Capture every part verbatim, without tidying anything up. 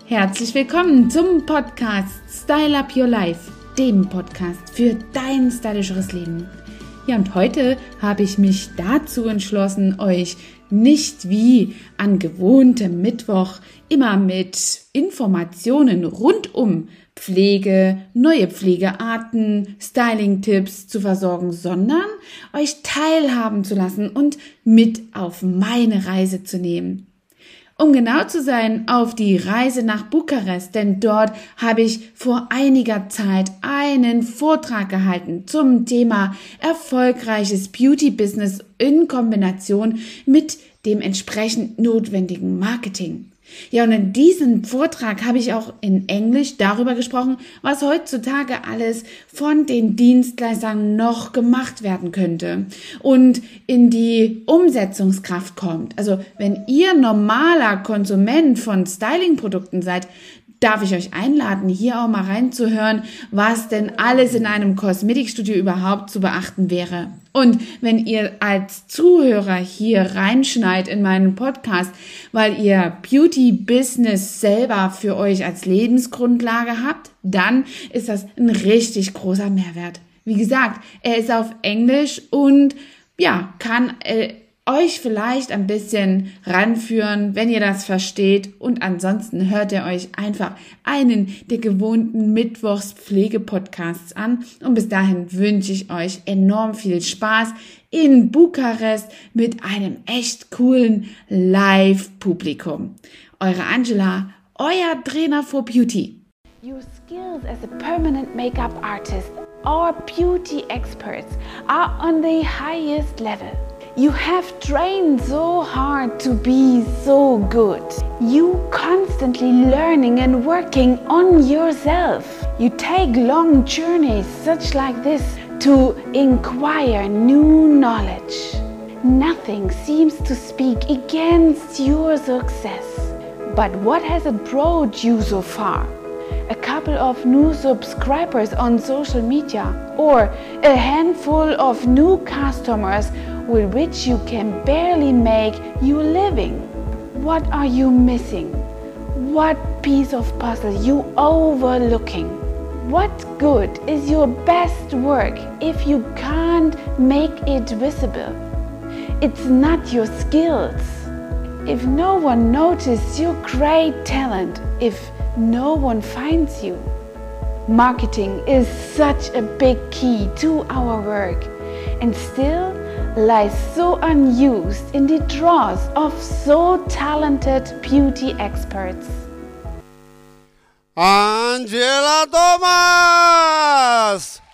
Herzlich willkommen zum Podcast Style Up Your Life, dem Podcast für dein stylischeres Leben. Ja, und heute habe ich mich dazu entschlossen, euch nicht wie an gewohntem Mittwoch immer mit Informationen rund um Pflege, neue Pflegearten, Styling-Tipps zu versorgen, sondern euch teilhaben zu lassen und mit auf meine Reise zu nehmen. Um genau zu sein, auf die Reise nach Bukarest, denn dort habe ich vor einiger Zeit einen Vortrag gehalten zum Thema erfolgreiches Beauty-Business in Kombination mit dem entsprechend notwendigen Marketing. Ja, und in diesem Vortrag habe ich auch in Englisch darüber gesprochen, was heutzutage alles von den Dienstleistern noch gemacht werden könnte und in die Umsetzungskraft kommt. Also wenn ihr normaler Konsument von Styling-Produkten seid, darf ich euch einladen, hier auch mal reinzuhören, was denn alles in einem Kosmetikstudio überhaupt zu beachten wäre. Und wenn ihr als Zuhörer hier reinschneit in meinen Podcast, weil ihr Beauty-Business selber für euch als Lebensgrundlage habt, dann ist das ein richtig großer Mehrwert. Wie gesagt, er ist auf Englisch und ja, kann äh, euch vielleicht ein bisschen ranführen, wenn ihr das versteht. Und ansonsten hört ihr euch einfach einen der gewohnten Mittwochs-Pflege-Podcasts an. Und bis dahin wünsche ich euch enorm viel Spaß in Bukarest mit einem echt coolen Live-Publikum. Eure Angela, euer Trainer for Beauty. Your skills as a permanent makeup artist or beauty experts are on the highest level. You have trained so hard to be so good. You constantly learning and working on yourself. You take long journeys such like this to acquire new knowledge. Nothing seems to speak against your success. But what has it brought you so far? A couple of new subscribers on social media or a handful of new customers with which you can barely make your living? What are you missing? What piece of puzzle you overlooking? What good is your best work if you can't make it visible? It's not your skills. If no one notices your great talent, if no one finds you. Marketing is such a big key to our work and still lies so unused in the drawers of so talented beauty experts. Angela Thomas!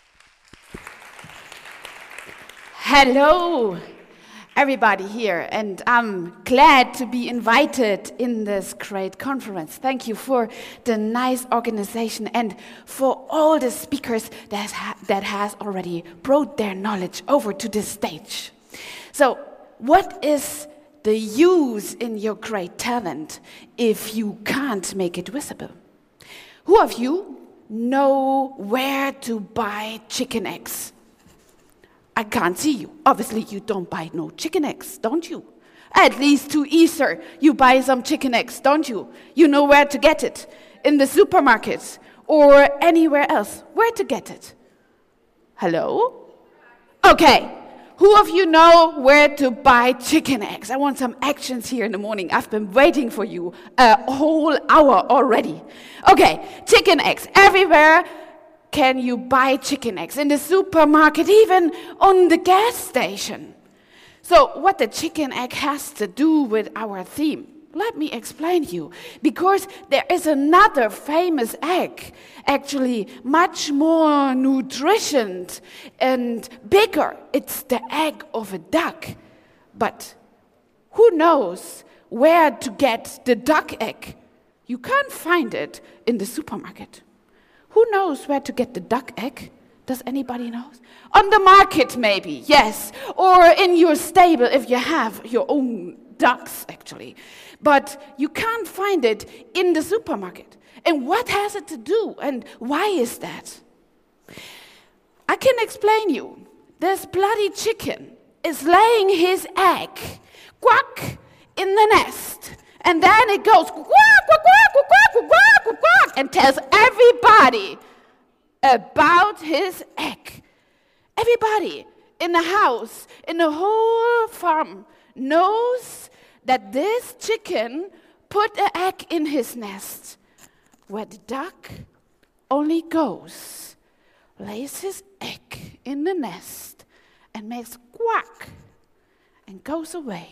Hello, everybody here, and I'm glad to be invited in this great conference. Thank you for the nice organization and for all the speakers that, ha- that has already brought their knowledge over to this stage. So, what is the use in your great talent if you can't make it visible? Who of you know where to buy chicken eggs? I can't see you. Obviously, you don't buy no chicken eggs, don't you? At least to Easter, you buy some chicken eggs, don't you? You know where to get it. In the supermarket or anywhere else. Where to get it? Hello? Okay. Who of you know where to buy chicken eggs? I want some actions here in the morning. I've been waiting for you a whole hour already. Okay, chicken eggs everywhere. Can you buy chicken eggs in the supermarket, even on the gas station? So what the chicken egg has to do with our theme, let me explain you. Because there is another famous egg, actually much more nutritious and bigger. It's the egg of a duck. But who knows where to get the duck egg? You can't find it in the supermarket. Who knows where to get the duck egg? Does anybody know? On the market, maybe, yes. Or in your stable if you have your own ducks, actually. But you can't find it in the supermarket. And what has it to do? And why is that? I can explain you. This bloody chicken is laying his egg, quack, in the nest. And then it goes quack, quack, quack, quack, quack, and tells everybody about his egg. Everybody in the house, in the whole farm, knows that this chicken put an egg in his nest, where the duck only goes, lays his egg in the nest, and makes quack, and goes away.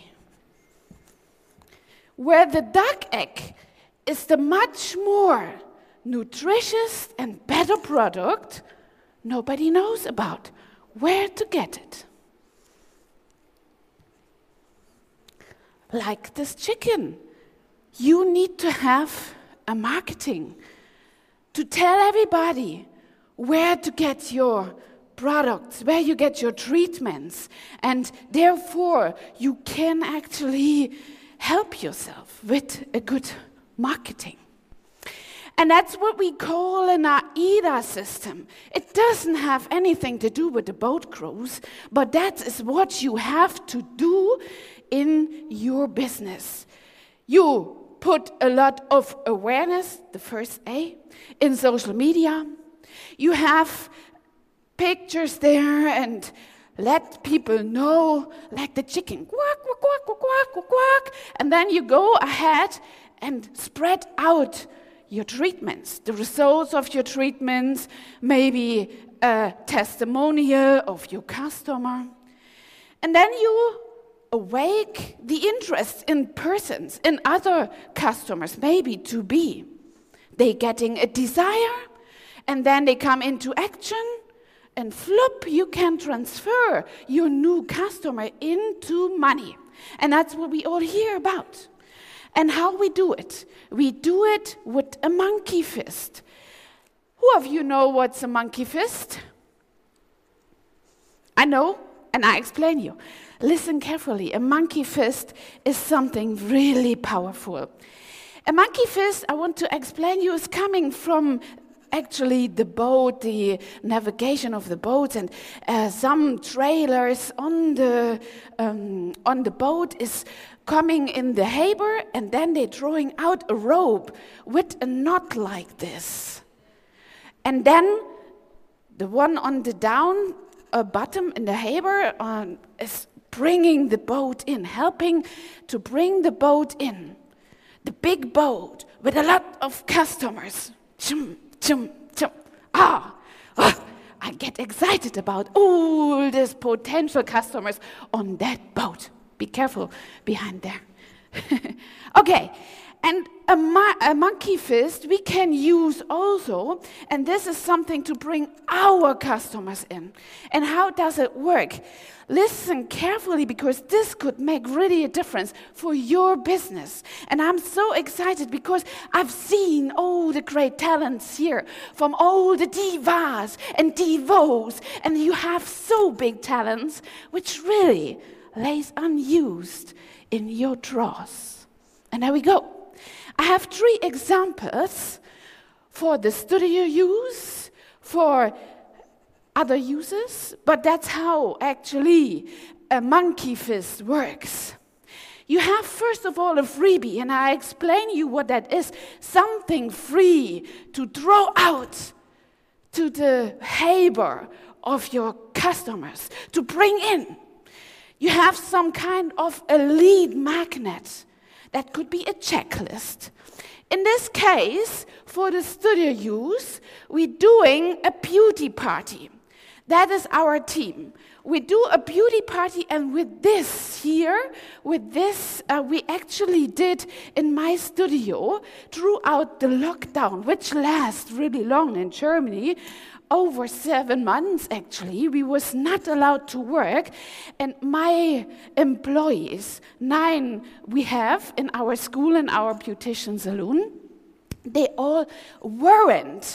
Where the duck egg is the much more nutritious and better product, nobody knows about where to get it. Like this chicken, you need to have a marketing to tell everybody where to get your products, where you get your treatments, and therefore you can actually help yourself with a good marketing. And that's what we call an AIDA system. It doesn't have anything to do with the boat cruise, but that is what you have to do in your business. You put a lot of awareness, the first A, in social media. You have pictures there and let people know, like the chicken, quack, quack, quack, quack, quack, quack, quack. And then you go ahead and spread out your treatments, the results of your treatments, maybe a testimonial of your customer. And then you awake the interest in persons, in other customers, maybe to be. They getting a desire, and then they come into action, and flip, you can transfer your new customer into money. And that's what we all hear about. And how we do it? We do it with a monkey fist. Who of you know what's a monkey fist? I know, and I explain you. Listen carefully. A monkey fist is something really powerful. A monkey fist, I want to explain you, is coming from actually the boat, the navigation of the boat, and uh, some trailers on the um, on the boat is coming in the harbor, and then they're drawing out a rope with a knot like this. And then the one on the down uh, bottom in the harbor uh, is bringing the boat in, helping to bring the boat in. The big boat with a lot of customers. Chum, chum, chum. Ah, oh, I get excited about all these potential customers on that boat. Be careful behind there. Okay, and a, mo- a monkey fist we can use also, and this is something to bring our customers in. And how does it work? Listen carefully, because this could make really a difference for your business. And I'm so excited because I've seen all the great talents here from all the divas and divos, and you have so big talents which really lays unused in your drawers. And there we go. I have three examples for the studio use, for other users, but that's how actually a monkey fist works. You have first of all a freebie, and I explain you what that is. Something free to throw out to the harbor of your customers, to bring in. You have some kind of a lead magnet. That could be a checklist. In this case, for the studio use, we're doing a beauty party. That is our team. We do a beauty party, and with this here, with this, uh, we actually did in my studio throughout the lockdown, which lasts really long in Germany. Over seven months, actually, we was not allowed to work, and my employees, nine we have in our school and our beautician salon, they all weren't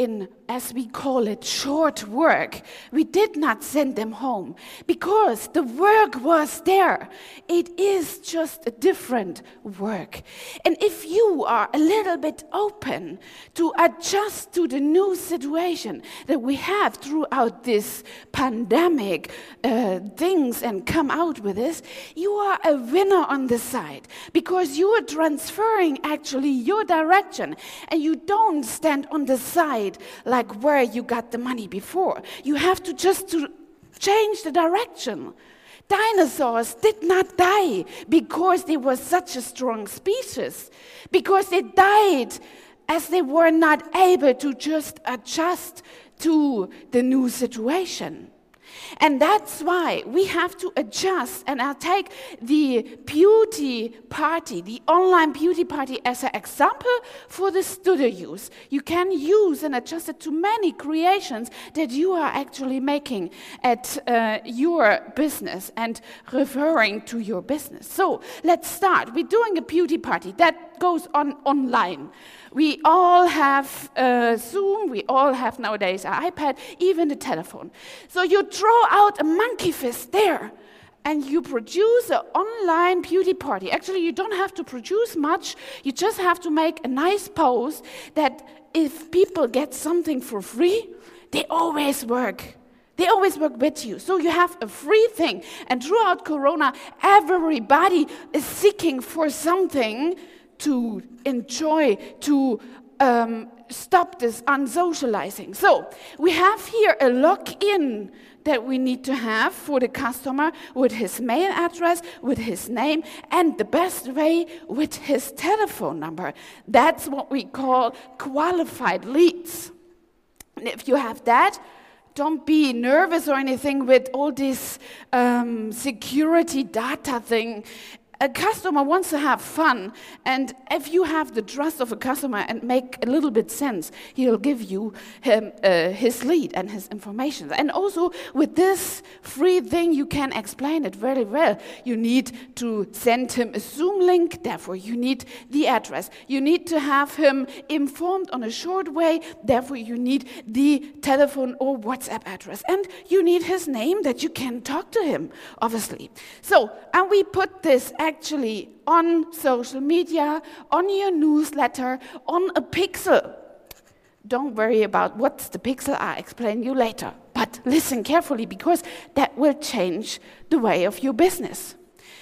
in, as we call it, short work, we did not send them home because the work was there. It is just a different work. And if you are a little bit open to adjust to the new situation that we have throughout this pandemic uh, things and come out with this, you are a winner on the side because you are transferring actually your direction and you don't stand on the side like where you got the money before. You have to just to change the direction. Dinosaurs did not die because they were such a strong species, because they died as they were not able to just adjust to the new situation. And that's why we have to adjust. And I'll take the beauty party, the online beauty party, as an example for the studio use. You can use and adjust it to many creations that you are actually making at uh, your business and referring to your business. So let's start. We're doing a beauty party that goes on online. We all have uh, Zoom, we all have nowadays an iPad, even the telephone. So you draw out a monkey fist there, and you produce an online beauty party. Actually, you don't have to produce much, you just have to make a nice post that if people get something for free, they always work. They always work with you. So you have a free thing. And throughout Corona, everybody is seeking for something to enjoy, to um, stop this unsocializing. So we have here a login that we need to have for the customer with his mail address, with his name, and the best way, with his telephone number. That's what we call qualified leads. And if you have that, don't be nervous or anything with all this um, security data thing. A customer wants to have fun, and if you have the trust of a customer and make a little bit sense, he'll give you him, uh, his lead and his information. And also with this free thing, you can explain it very well. You need to send him a Zoom link, therefore you need the address. You need to have him informed on a short way, therefore you need the telephone or WhatsApp address. And you need his name that you can talk to him, obviously. So, and we put this actually on social media, on your newsletter, on a pixel. Don't worry about what's the pixel, I'll explain you later. But listen carefully, because that will change the way of your business.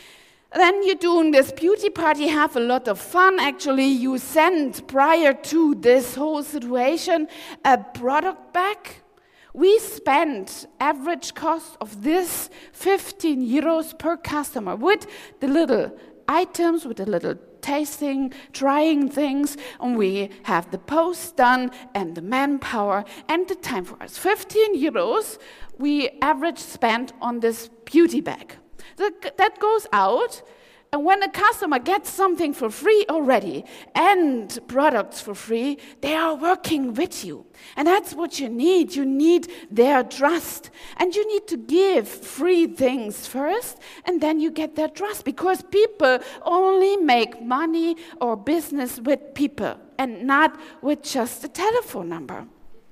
Then you're doing this beauty party, have a lot of fun. Actually, you send, prior to this whole situation, a product back. We spend average cost of this fifteen euros per customer with the little items, with the little tasting, trying things, and we have the post done and the manpower and the time for us. fifteen euros we average spend on this beauty bag. That, that goes out. And when a customer gets something for free already and products for free, they are working with you. And that's what you need. You need their trust. And you need to give free things first, and then you get their trust. Because people only make money or business with people and not with just a telephone number.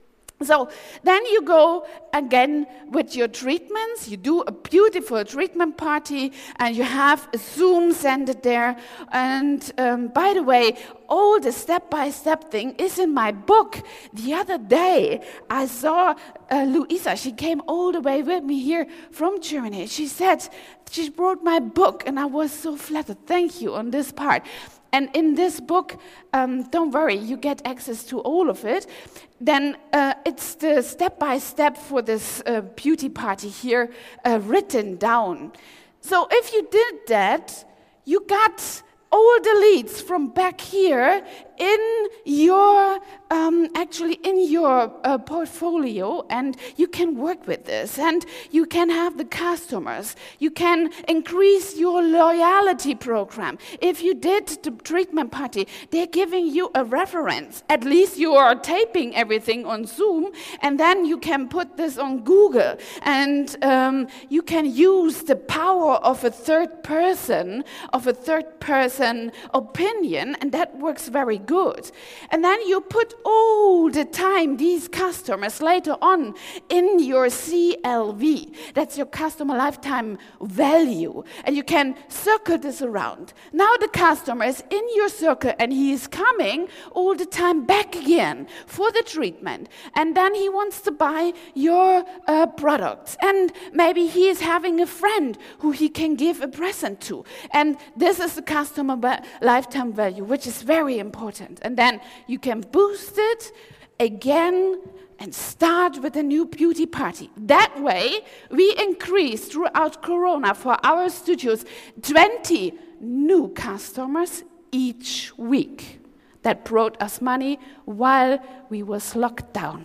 So then you go again with your treatments. You do a beautiful treatment party, and you have a Zoom, send it there. And um, by the way, all the step-by-step thing is in my book. The other day, I saw uh, Luisa. She came all the way with me here from Germany. She said, she wrote my book, and I was so flattered. Thank you on this part. And in this book, um, don't worry, you get access to all of it. Then uh, it's the step-by-step for this uh, beauty party here uh, written down. So if you did that, you got all the leads from back here in your, um, actually in your uh, portfolio, and you can work with this, and you can have the customers. You can increase your loyalty program. If you did the treatment party, they're giving you a reference. At least you are taping everything on Zoom, and then you can put this on Google, and um, you can use the power of a third person, of a third person opinion, and that works very good. And then you put all the time these customers later on in your C L V. That's your customer lifetime value. And you can circle this around. Now the customer is in your circle and he is coming all the time back again for the treatment. And then he wants to buy your uh, products. And maybe he is having a friend who he can give a present to. And this is the customer ba- lifetime value, which is very important. And then you can boost it again and start with a new beauty party. That way, we increase throughout Corona for our studios twenty new customers each week. That brought us money while we was locked down.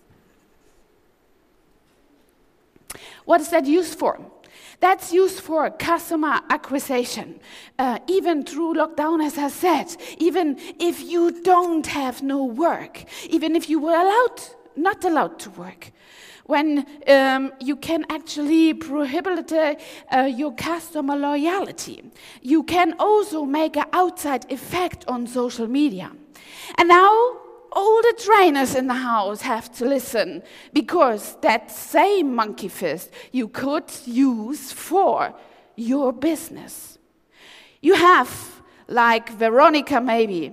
What is that used for? That's used for customer acquisition. Uh, even through lockdown, as I said, even if you don't have no work, even if you were allowed, not allowed to work, when um, you can actually prohibit uh, uh, your customer loyalty, you can also make an outside effect on social media. And now, all the trainers in the house have to listen, because that same monkey fist you could use for your business. You have, like Veronica maybe,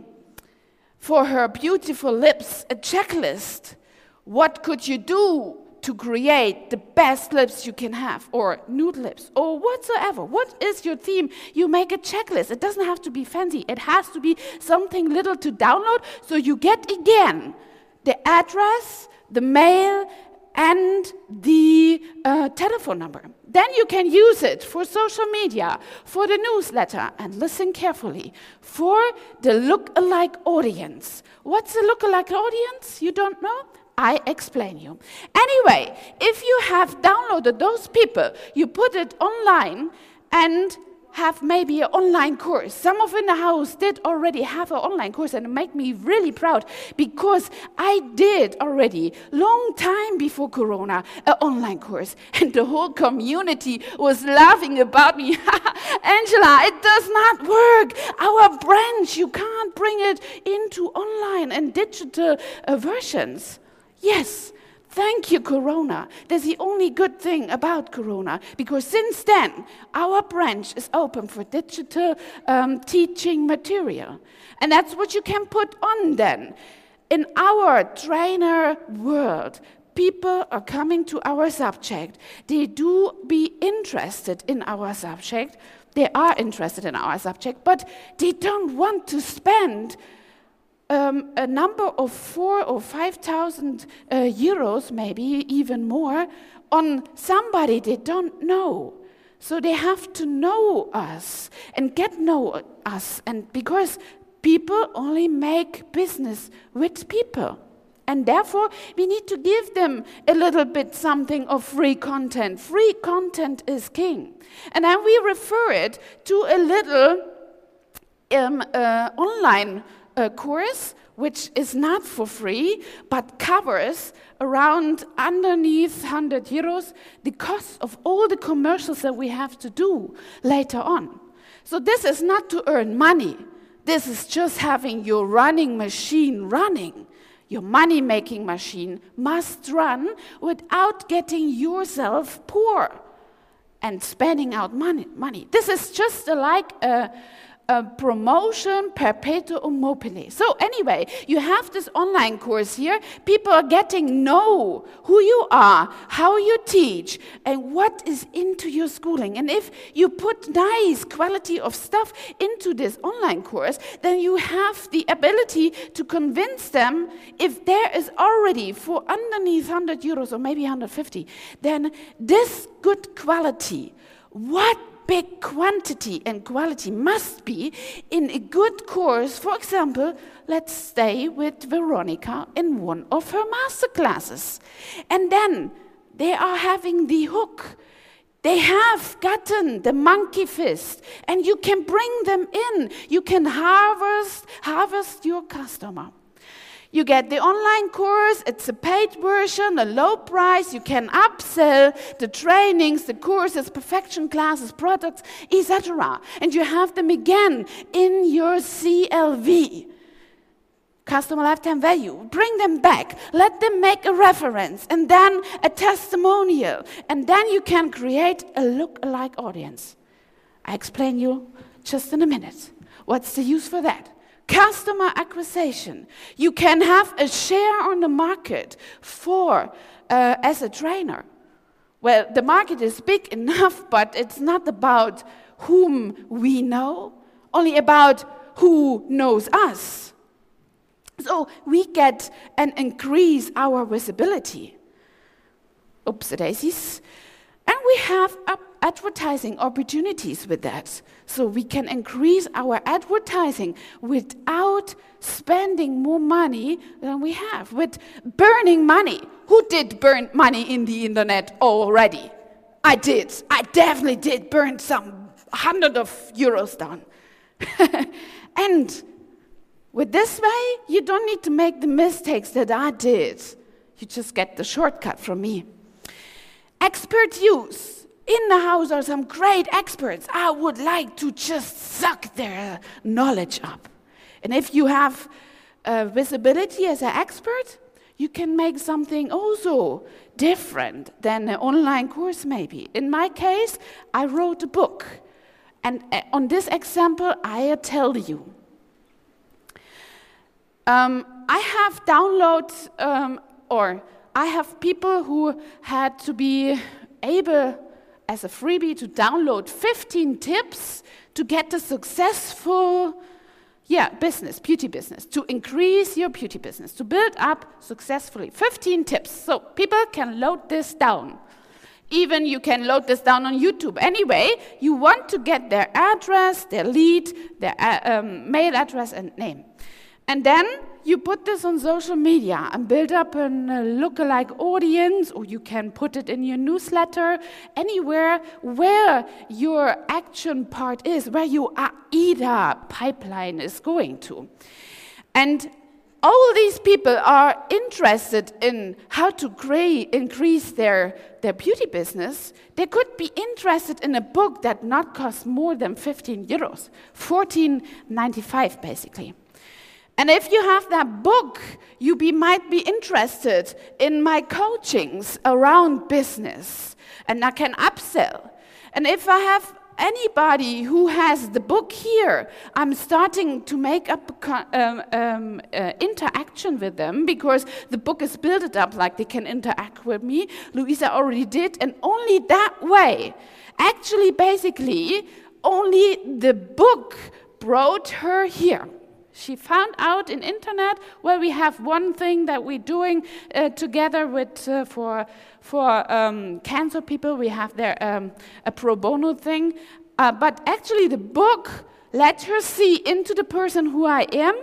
for her beautiful lips, a checklist. What could you do to create the best lips you can have, or nude lips, or whatsoever? What is your theme? You make a checklist. It doesn't have to be fancy. It has to be something little to download, so you get again the address, the mail, and the uh, telephone number. Then you can use it for social media, for the newsletter, and listen carefully, for the look-alike audience. What's a look-alike audience? You don't know? I explain you. Anyway, if you have downloaded those people, you put it online and have maybe an online course. Some of in the house did already have an online course, and it made me really proud, because I did already, long time before Corona, an online course. And the whole community was laughing about me. Angela, it does not work. Our branch, you can't bring it into online and digital uh, versions. Yes, thank you, Corona. That's the only good thing about Corona, because since then, our branch is open for digital um, teaching material. And that's what you can put on then. In our trainer world, people are coming to our subject. They do be interested in our subject. They are interested in our subject, but they don't want to spend Um, a number of four or five thousand uh, euros, maybe even more, on somebody they don't know. So they have to know us and get know us, and because people only make business with people, and therefore we need to give them a little bit something of free content. Free content is king, and then we refer it to a little um, uh, online a course which is not for free, but covers around underneath one hundred euros the cost of all the commercials that we have to do later on. So this is not to earn money. This is just having your running machine running. Your money-making machine must run without getting yourself poor and spending out money. money. This is just a, like a A promotion perpetuum mobile. So anyway, you have this online course here. People are getting know who you are, how you teach, and what is into your schooling. And if you put nice quality of stuff into this online course, then you have the ability to convince them, if there is already for underneath one hundred euros or maybe one hundred fifty, then this good quality, what big quantity and quality must be in a good course. For example, let's stay with Veronica in one of her master classes. And then they are having the hook. They have gotten the monkey fist, and you can bring them in. You can harvest, harvest your customer. You get the online course, it's a paid version, a low price, you can upsell the trainings, the courses, perfection classes, products, et cetera. And you have them again in your C L V. customer lifetime value. Bring them back. Let them make a reference and then a testimonial. And then you can create a look-alike audience. I explain you just in a minute. What's the use for that? Customer acquisition. You can have a share on the market for uh, as a trainer. Well, the market is big enough, but it's not about whom we know, only about who knows us. So we get and increase our visibility. Oops-a-daisies. And we have advertising opportunities with that. So we can increase our advertising without spending more money than we have, with burning money. Who did burn money in the internet already? I did. I definitely did burn some hundred of euros down. And with this way, you don't need to make the mistakes that I did. You just get the shortcut from me. Expert use. In the house are some great experts. I would like to just suck their knowledge up. And if you have uh, visibility as an expert, you can make something also different than an online course maybe. In my case, I wrote a book. And uh, on this example, I tell you. Um, I have downloads, um, or I have people who had to be able, as a freebie, to download fifteen tips to get a successful yeah, business, beauty business, to increase your beauty business, to build up successfully. fifteen tips. So people can load this down. Even you can load this down on YouTube. Anyway, you want to get their address, their lead, their uh, um, mail address and name. And then you put this on social media and build up a uh, lookalike audience, or you can put it in your newsletter, anywhere where your action part is, where your A I D A pipeline is going to. And all these people are interested in how to create, increase their, their beauty business. They could be interested in a book that not costs more than fifteen euros, fourteen ninety-five basically. And if you have that book, you be, might be interested in my coachings around business, and I can upsell. And if I have anybody who has the book here, I'm starting to make up um, um, uh, interaction with them, because the book is built up like they can interact with me. Luisa already did, and only that way, actually, basically, only the book brought her here. She found out in internet, well, we have one thing that we're doing uh, together with uh, for for um, cancer people. We have there um, a pro bono thing, uh, but actually the book let her see into the person who I am,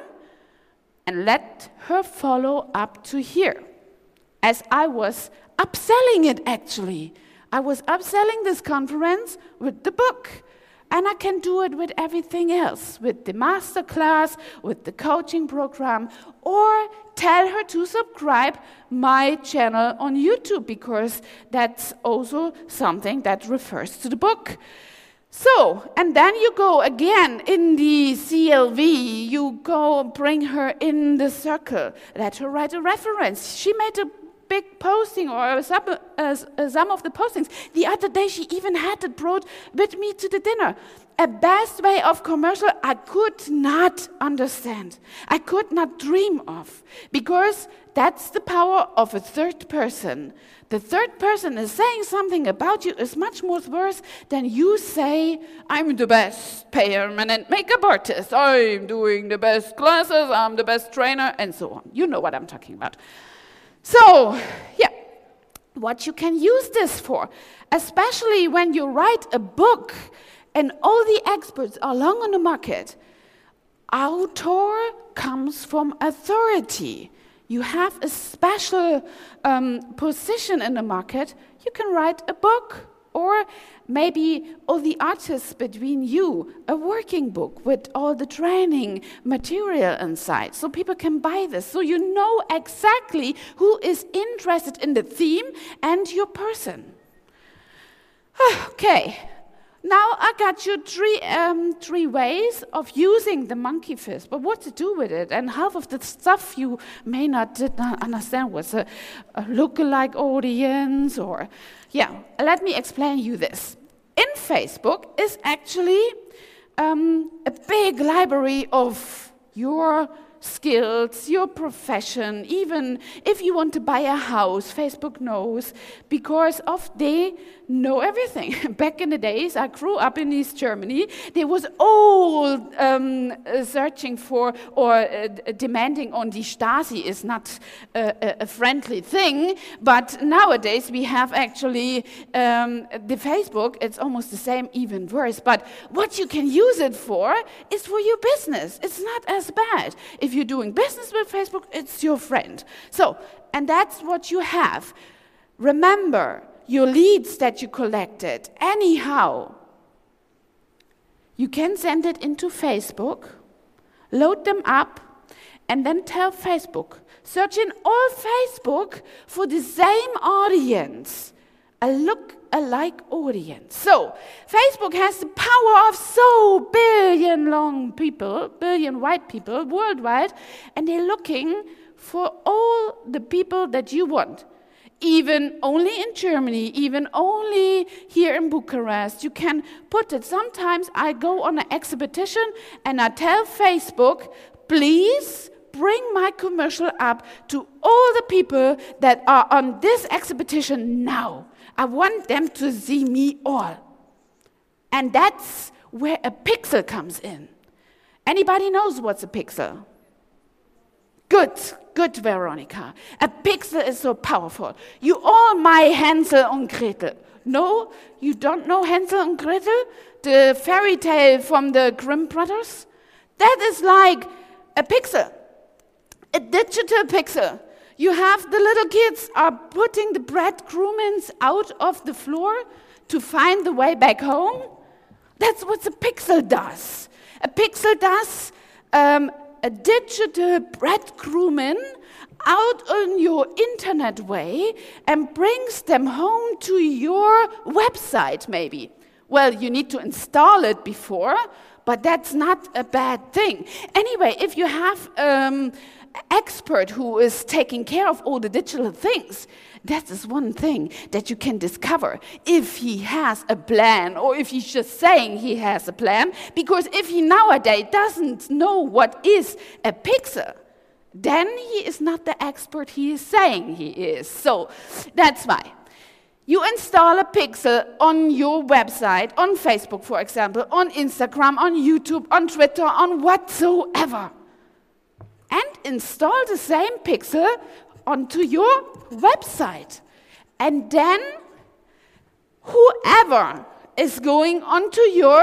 and let her follow up to here. As I was upselling it, actually, I was upselling this conference with the book. And I can do it with everything else, with the masterclass, with the coaching program, or tell her to subscribe my channel on YouTube, because that's also something that refers to the book. So, and then you go again in the C L V, you go bring her in the circle, let her write a reference. She made a big posting, or some, uh, some of the postings. The other day she even had it brought with me to the dinner. A best way of commercial I could not understand. I could not dream of, because that's the power of a third person. The third person is saying something about you is much more worse than you say, I'm the best permanent makeup artist, I'm doing the best classes, I'm the best trainer, and so on. You know what I'm talking about. So, yeah, what you can use this for, especially when you write a book and all the experts are long on the market. Author comes from authority. You have a special um, position in the market. You can write a book, or maybe all the artists between you, a working book with all the training material inside, so people can buy this, so you know exactly who is interested in the theme and your person. Okay, Now I got you three um, three ways of using the monkey fist, but what to do with it? And half of the stuff you may not did not understand was a, a lookalike audience, or yeah. Let me explain you this. In Facebook is actually um, a big library of your skills, your profession. Even if you want to buy a house, Facebook knows, because of they know everything. Back in the days, I grew up in East Germany, there was all um, uh, searching for or uh, d- demanding on the Stasi is not uh, a, a friendly thing, but nowadays we have actually um, the Facebook, it's almost the same, even worse, but what you can use it for is for your business. It's not as bad. If you're doing business with Facebook, it's your friend. So, and that's what you have. Remember, your leads that you collected, anyhow, you can send it into Facebook, load them up, and then tell Facebook, search in all Facebook for the same audience, a look-alike audience. So, Facebook has the power of so billion long people, billion white people worldwide, and they're looking for all the people that you want. Even only in Germany, even only here in Bucharest, you can put it. Sometimes I go on an exhibition and I tell Facebook, please bring my commercial up to all the people that are on this exhibition now. I want them to see me all. And that's where a pixel comes in. Anybody knows what's a pixel? Good, good, Veronica. A pixel is so powerful. You all my Hansel and Gretel. No, you don't know Hansel and Gretel? The fairy tale from the Grimm brothers? That is like a pixel, a digital pixel. You have the little kids are putting the breadcrumbs out of the floor to find the way back home. That's what a pixel does. A pixel does um, a digital breadcrumb out on your internet way and brings them home to your website maybe. Well, you need to install it before, but that's not a bad thing. Anyway, if you have um, expert who is taking care of all the digital things, that is one thing that you can discover if he has a plan or if he's just saying he has a plan. Because if he nowadays doesn't know what is a pixel, then he is not the expert he is saying he is. So that's why. You install a pixel on your website, on Facebook, for example, on Instagram, on YouTube, on Twitter, on whatsoever. And install the same pixel onto your website. And then whoever is going onto your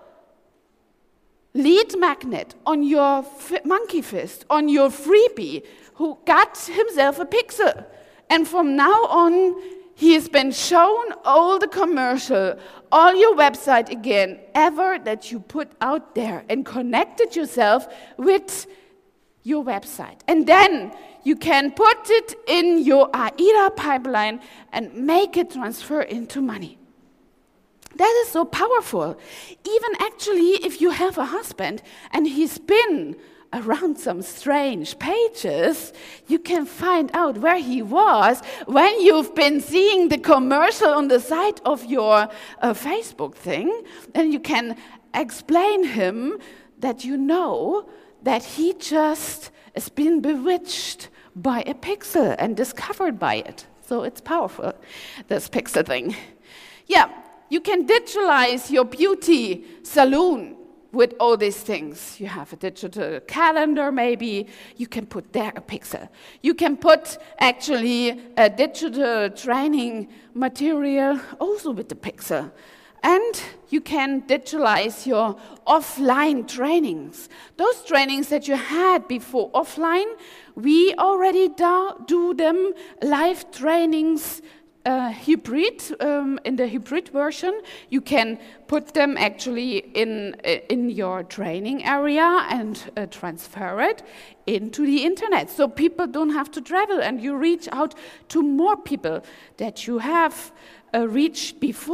lead magnet, on your f- monkey fist, on your freebie, who got himself a pixel. And from now on, he has been shown all the commercial, all your website again, ever that you put out there, and connected yourself with your website. And then you can put it in your AIDA pipeline and make it transfer into money. That is so powerful. Even actually, if you have a husband and he's been around some strange pages, you can find out where he was when you've been seeing the commercial on the side of your uh, Facebook thing, and you can explain him that you know that he just has been bewitched by a pixel and discovered by it. So it's powerful, this pixel thing. Yeah, you can digitalize your beauty salon with all these things. You have a digital calendar maybe, you can put there a pixel. You can put actually a digital training material also with the pixel. And you can digitalize your offline trainings. Those trainings that you had before offline, we already do, do them live trainings uh, hybrid, um, in the hybrid version. You can put them actually in, in your training area and uh, transfer it into the internet. So people don't have to travel and you reach out to more people that you have uh, reached before.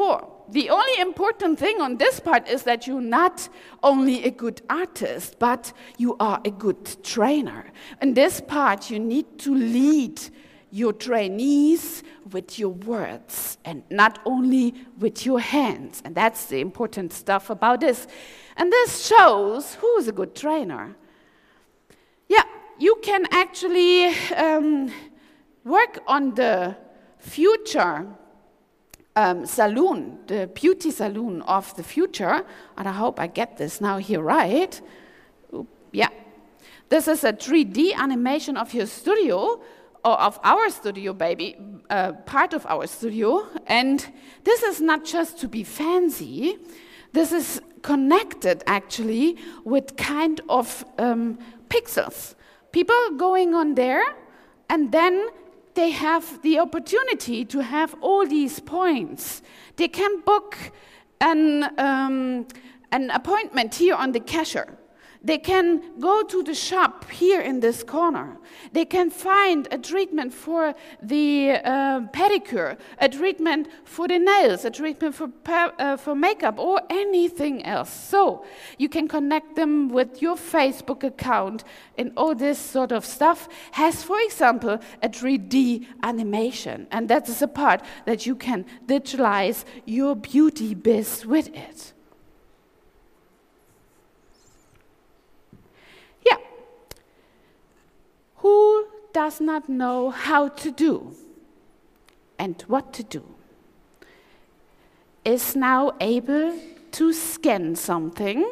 the only important thing on this part is that you're not only a good artist, but you are a good trainer. In this part, you need to lead your trainees with your words and not only with your hands. And that's the important stuff about this. And this shows who is a good trainer. Yeah, you can actually um, work on the future um, salon, the beauty salon of the future. And I hope I get this now here right. Oop, yeah. This is a three D animation of your studio, or of our studio, baby, uh, part of our studio. And this is not just to be fancy. This is connected, actually, with kind of um, pixels. People going on there, and then they have the opportunity to have all these points. They can book an, um, an appointment here on the cashier. They can go to the shop here in this corner. They can find a treatment for the uh, pedicure, a treatment for the nails, a treatment for, uh, for makeup, or anything else. So you can connect them with your Facebook account, and all this sort of stuff has, for example, a three D animation. And that is a part that you can digitalize your beauty biz with it. Who does not know how to do and what to do is now able to scan something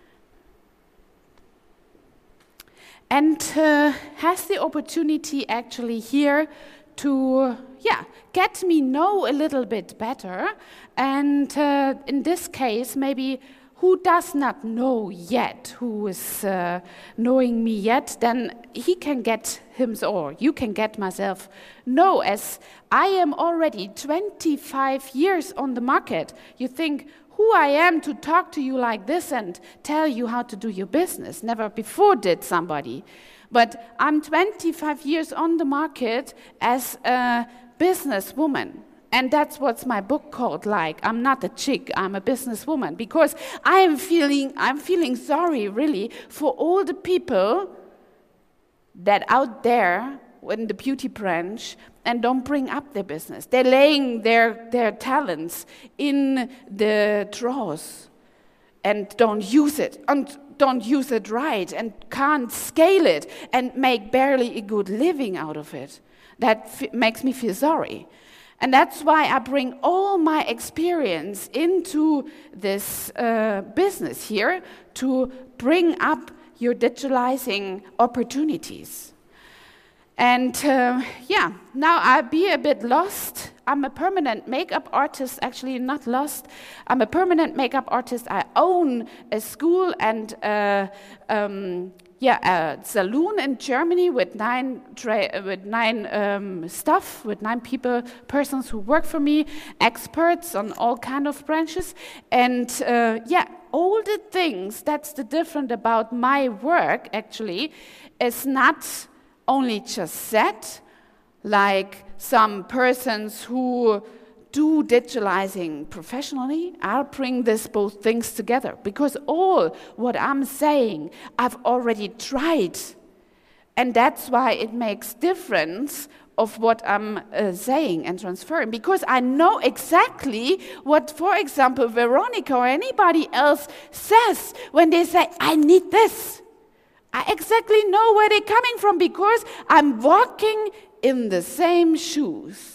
and uh, has the opportunity actually here to yeah, get me know a little bit better. And uh, in this case, maybe who does not know yet, who is uh, knowing me yet, then he can get him, or you can get myself know, as I am already twenty-five years on the market. You think, who I am to talk to you like this and tell you how to do your business? Never before did somebody. But I'm twenty-five years on the market as a businesswoman. And that's what's my book called, like, I'm not a chick, I'm a businesswoman. Because I am feeling, I'm feeling sorry, really, for all the people that out there in the beauty branch and don't bring up their business. They're laying their, their talents in the drawers and don't use it, and don't use it right, and can't scale it, and make barely a good living out of it. That f- makes me feel sorry. And that's why I bring all my experience into this uh, business here to bring up your digitalizing opportunities. And uh, yeah, now I be a bit lost. I'm a permanent makeup artist, actually not lost. I'm a permanent makeup artist. I own a school and uh, um, yeah, a saloon in Germany with nine tra- with nine um, staff, with nine people, persons who work for me, experts on all kind of branches, and uh, yeah, all the things. That's the different about my work. Actually, is not only just set, like some persons who do digitalizing professionally. I'll bring this both things together, because all what I'm saying I've already tried, and that's why it makes difference of what I'm uh, saying and transferring, because I know exactly what, for example, Veronica or anybody else says when they say, I need this. I exactly know where they're coming from, because I'm walking in the same shoes.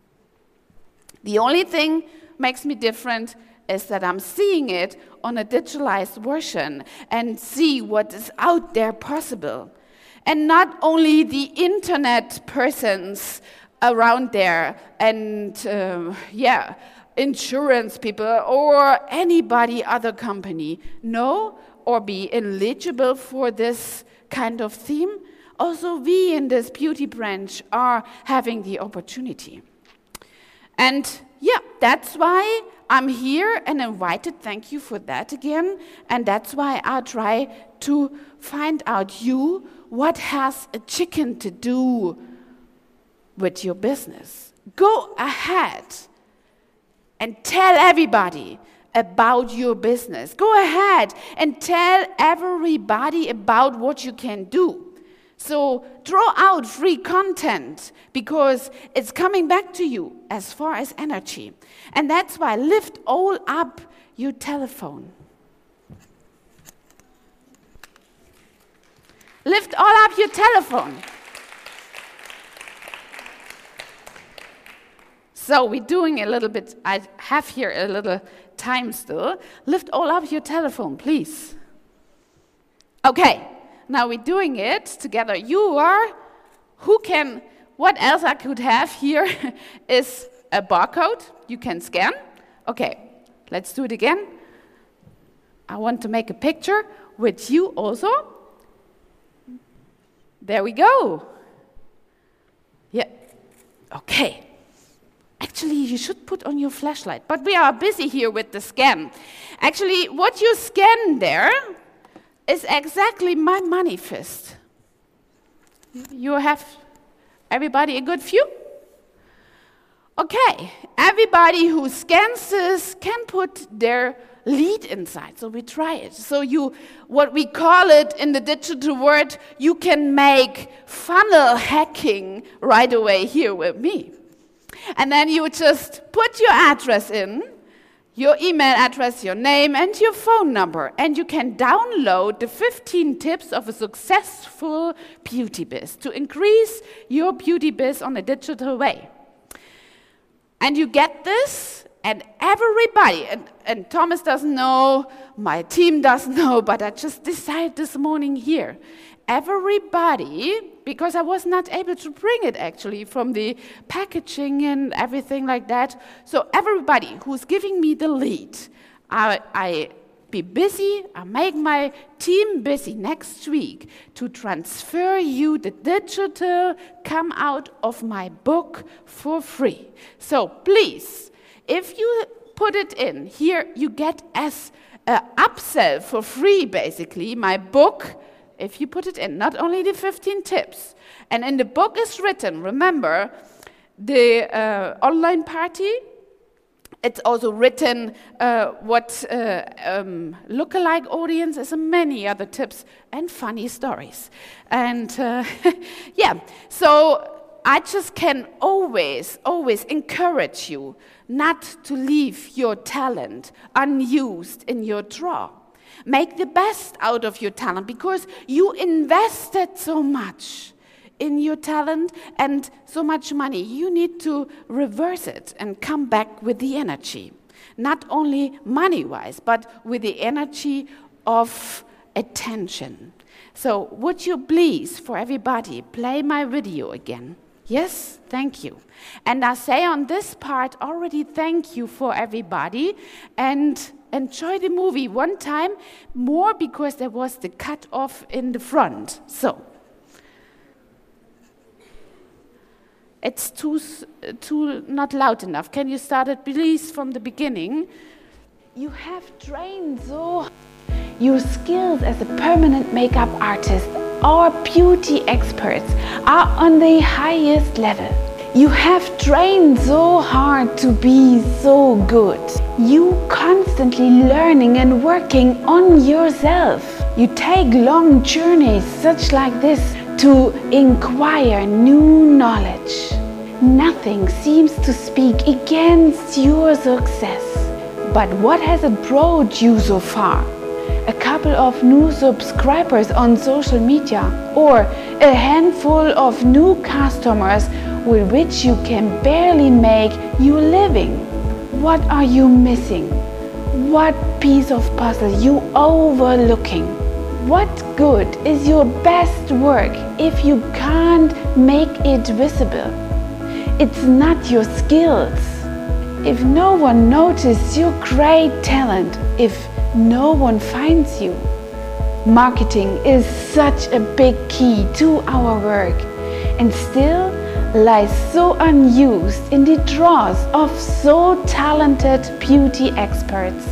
The only thing makes me different is that I'm seeing it on a digitalized version and see what is out there possible. And not only the internet persons around there and, uh, yeah, insurance people or anybody other company know or be eligible for this kind of theme. Also, we in this beauty branch are having the opportunity. And yeah, that's why I'm here and invited. Thank you for that again. And that's why I try to find out you, what has a chicken to do with your business? Go ahead and tell everybody about your business. Go ahead and tell everybody about what you can do. So draw out free content because it's coming back to you as far as energy. And that's why lift all up your telephone. Lift all up your telephone. So we're doing a little bit, I have here a little time still. Lift all up your telephone, please. Okay, now we're doing it together. You are, who can, what else I could have here is a barcode you can scan. Okay, let's do it again. I want to make a picture with you also. There we go. Yeah, okay. Actually, you should put on your flashlight, but we are busy here with the scan. Actually, what you scan there is exactly my manifest. You have, everybody, a good view? Okay, everybody who scans this can put their lead inside, so we try it. So you, what we call it in the digital world, you can make funnel hacking right away here with me. And then you just put your address in, your email address, your name, and your phone number. And you can download the fifteen tips of a successful beauty biz to increase your beauty biz on a digital way. And you get this, and everybody, and, and Thomas doesn't know, my team doesn't know, but I just decided this morning here. Everybody, because I was not able to bring it actually from the packaging and everything like that. So everybody who's giving me the lead, I, I be busy, I make my team busy next week to transfer you the digital come out of my book for free. So please, if you put it in, here you get as an upsell for free basically, my book. If you put it in, not only the fifteen tips, and in the book is written, remember, the uh, online party, it's also written uh, what uh, um, lookalike audiences and many other tips and funny stories. And uh, yeah, so I just can always, always encourage you not to leave your talent unused in your drawer. Make the best out of your talent because you invested so much in your talent and so much money. You need to reverse it and come back with the energy. Not only money-wise, but with the energy of attention. So would you please, for everybody, play my video again? Yes, thank you. And I say on this part already thank you for everybody and enjoy the movie one time more because there was the cut off in the front. So it's too too not loud enough. Can you start it please from the beginning? You have trained so your skills as a permanent makeup artist or beauty experts are on the highest level. You have trained so hard to be so good. You constantly learning and working on yourself. You take long journeys such like this to acquire new knowledge. Nothing seems to speak against your success. But what has it brought you so far? A couple of new subscribers on social media or a handful of new customers with which you can barely make your living? What are you missing? What piece of puzzle you overlooking? What good is your best work if you can't make it visible? It's not your skills. If no one notices your great talent, if no one finds you. Marketing is such a big key to our work and still lies so unused in the drawers of so talented beauty experts.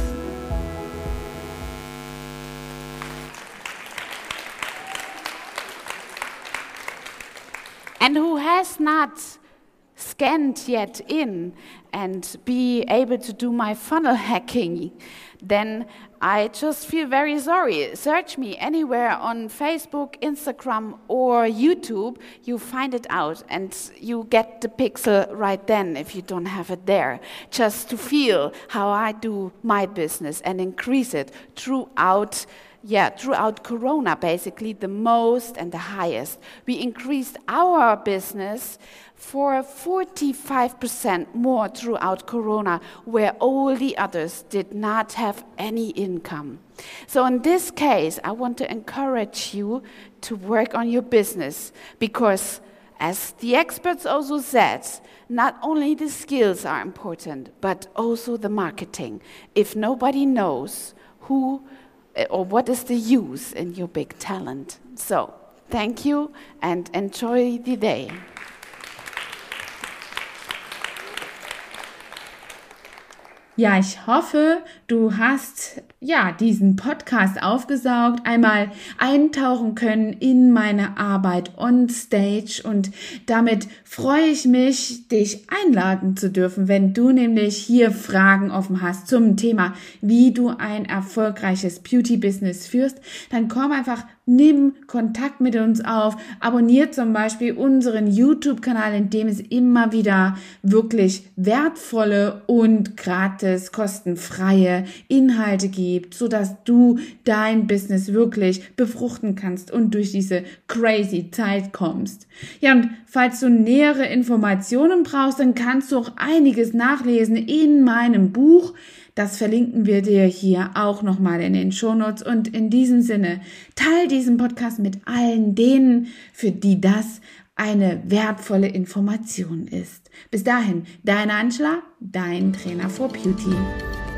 And who has not scanned yet in and be able to do my funnel hacking, then I just feel very sorry. Search me anywhere on Facebook, Instagram, or YouTube. You find it out and you get the pixel right then if you don't have it there. Just to feel how I do my business and increase it throughout Yeah, throughout Corona, basically the most and the highest. We increased our business for forty-five percent more throughout Corona, where all the others did not have any income. So in this case, I want to encourage you to work on your business because, as the experts also said, not only the skills are important, but also the marketing. If nobody knows who or what is the use in your big talent. So, thank you and enjoy the day. Ja, ich hoffe, du hast ja diesen Podcast aufgesaugt, einmal eintauchen können in meine Arbeit on stage und damit freue ich mich, dich einladen zu dürfen, wenn du nämlich hier Fragen offen hast zum Thema, wie du ein erfolgreiches Beauty-Business führst, dann komm einfach, nimm Kontakt mit uns auf, abonniert zum Beispiel unseren YouTube-Kanal, in dem es immer wieder wirklich wertvolle und gratis, kostenfreie Inhalte gibt, sodass du dein Business wirklich befruchten kannst und durch diese crazy Zeit kommst. Ja, und falls du nähere Informationen brauchst, dann kannst du auch einiges nachlesen in meinem Buch. Das verlinken wir dir hier auch nochmal in den Shownotes. Und in diesem Sinne, teil diesen Podcast mit allen denen, für die das eine wertvolle Information ist. Bis dahin, deine Angela, dein Trainer for Beauty.